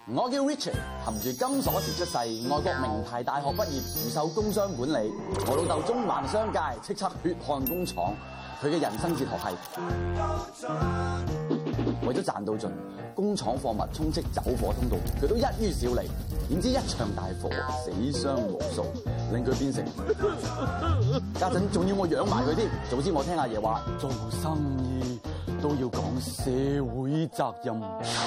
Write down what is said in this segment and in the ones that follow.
我叫 Richard， 含住金鎖匙出世，外國名牌大學畢業，主修工商管理。我老豆中環商界，叱咤血汗工廠。佢嘅人生哲學係為咗賺到盡，工廠貨物充斥走火通道，佢都一於少理。點知一場大火，死傷無數，令佢變成家陣仲要我養埋佢添。早知我聽阿爺話，做生意都要講社會責任。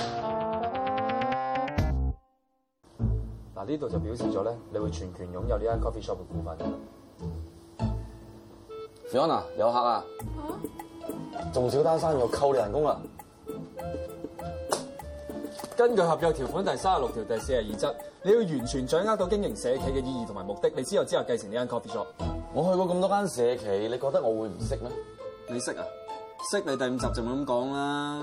嗱，呢度就表示咗咧，你會全權擁有呢間 coffee shop 嘅股份。 Fiona 有客啊！仲少單生意，我扣你人工啦。 根據合約條款第36條第42則，你要完全掌握到經營社企嘅意義同埋目的，你之後繼承呢間 coffee shop。 我去過咁多間社企，你覺得我會唔識咩？ 你識啊？識你第5集就冇咁講啦。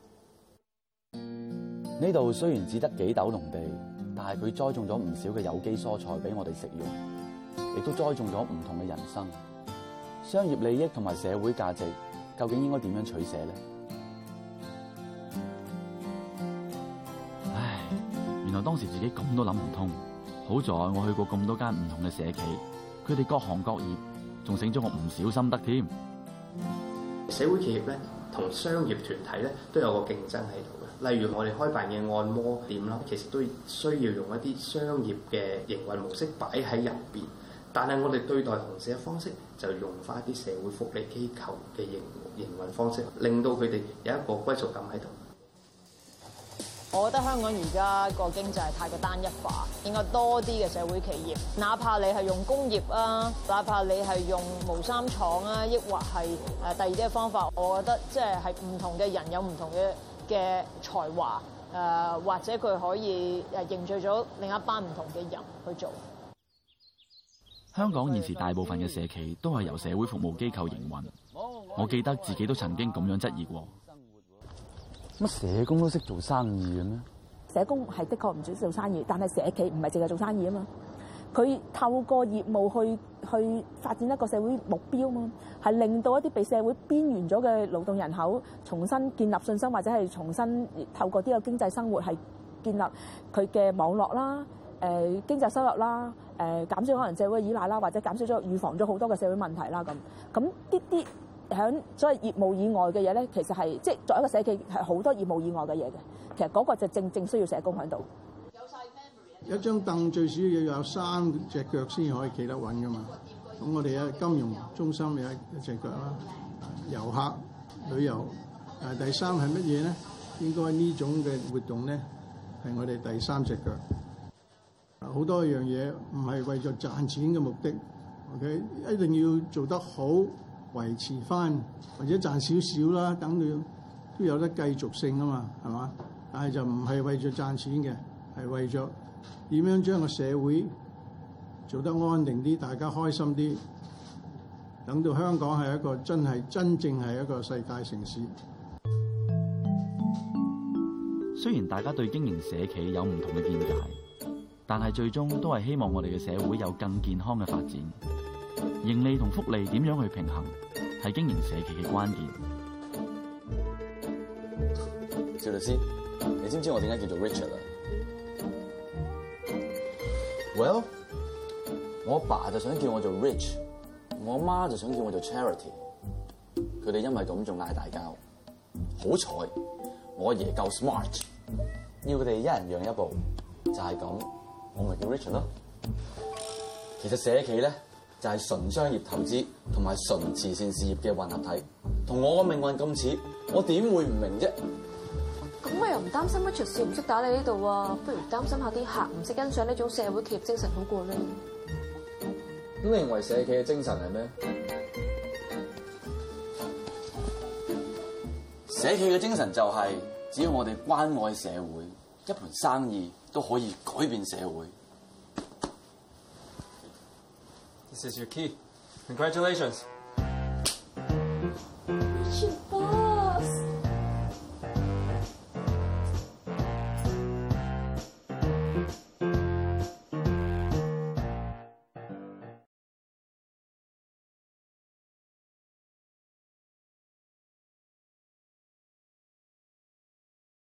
呢度雖然只得幾斗農地，但係佢栽種咗唔少嘅有機蔬菜俾我哋食用，亦都栽種咗唔同嘅人生。商業利益同埋社會價值，究竟應該點樣取捨咧？唉，原來當時自己咁都諗唔通。好在我去過咁多間唔同嘅社企，佢哋各行各業，仲醒咗我唔少心得添。 社會企業咧同商業團體咧都有個競爭喺度嘅。例如我哋開辦嘅按摩店啦，其實都需要用一啲商業嘅營運模式擺喺入邊。但係我哋對待同事嘅方式就用翻一啲社會福利機構嘅營運方式，令到佢哋有一個歸屬感喺度。 我覺得香港而家個經濟太過單一化，應該多啲嘅社會企業，哪怕你係用工業啊，哪怕你係用毛衫廠啊，抑或係第二啲嘅方法，我覺得即係唔同嘅人有唔同嘅才華，或者佢可以凝聚咗另一班唔同嘅人去做。 香港現時大部分嘅社企都係由社會服務機構營運，我記得自己都曾經咁樣質疑過。乜社工都識做生意嘅咩？ 社工係的確唔少做生意，但係社企唔係淨係做生意啊嘛。佢透過業務去發展一個社會目標啊嘛，係令到一啲被社會邊緣咗嘅勞動人口重新建立信心，或者係重新透過呢個經濟生活係建立佢嘅網絡啦、經濟收入啦、減少可能社會依賴啦，或者減少咗預防咗好多嘅社會問題啦咁啲喺所謂業務以外嘅嘢咧，其實係即係作為一個社企係好多業務以外嘅嘢嘅。其實嗰個就正需要社工喺度。 一張凳最少要有3隻腳先可以企得穩噶嘛。咁我哋喺金融中心有一隻腳啦，遊客旅遊。第3係乜嘢咧？應該呢種嘅活動咧係我哋第3隻腳。好多樣嘢唔係為咗賺錢嘅目的 ，OK， 一定要做得好，維持翻或者賺少少啦，等到都有得繼續性啊嘛，係嘛？但係就唔係為咗賺錢嘅，係為咗點樣將個社會做得安定啲，大家開心啲，等到香港係一個真正係一個世界城市。 雖然大家對經營社企有唔同嘅見解，但係最終都係希望我哋嘅社會有更健康嘅發展。盈利同福利點樣去平衡，係經營社企嘅關鍵。趙律師，你知唔知我點解叫做 Richard 啊 ？Well， 我阿爸就想叫我做 Rich， 我阿媽就想叫我做 Charity。佢哋因為咁仲嗌大交。好彩我阿爺夠 smart， 要佢哋一人讓一步，就係咁，我咪叫 Richard 咯。其實社企咧就係純商業投資同埋純慈善事業嘅混合體，同我個命運咁似，我點會唔明啫？ 咁我又唔擔心乜出事唔識打你呢度啊，不如擔心下啲客唔識欣賞呢種社會企業精神好過咧。 咁你認為社企嘅精神係咩？ 社企嘅精神就係，只要我哋關愛社會，一盤生意都可以改變社會。 This is your key. Congratulations.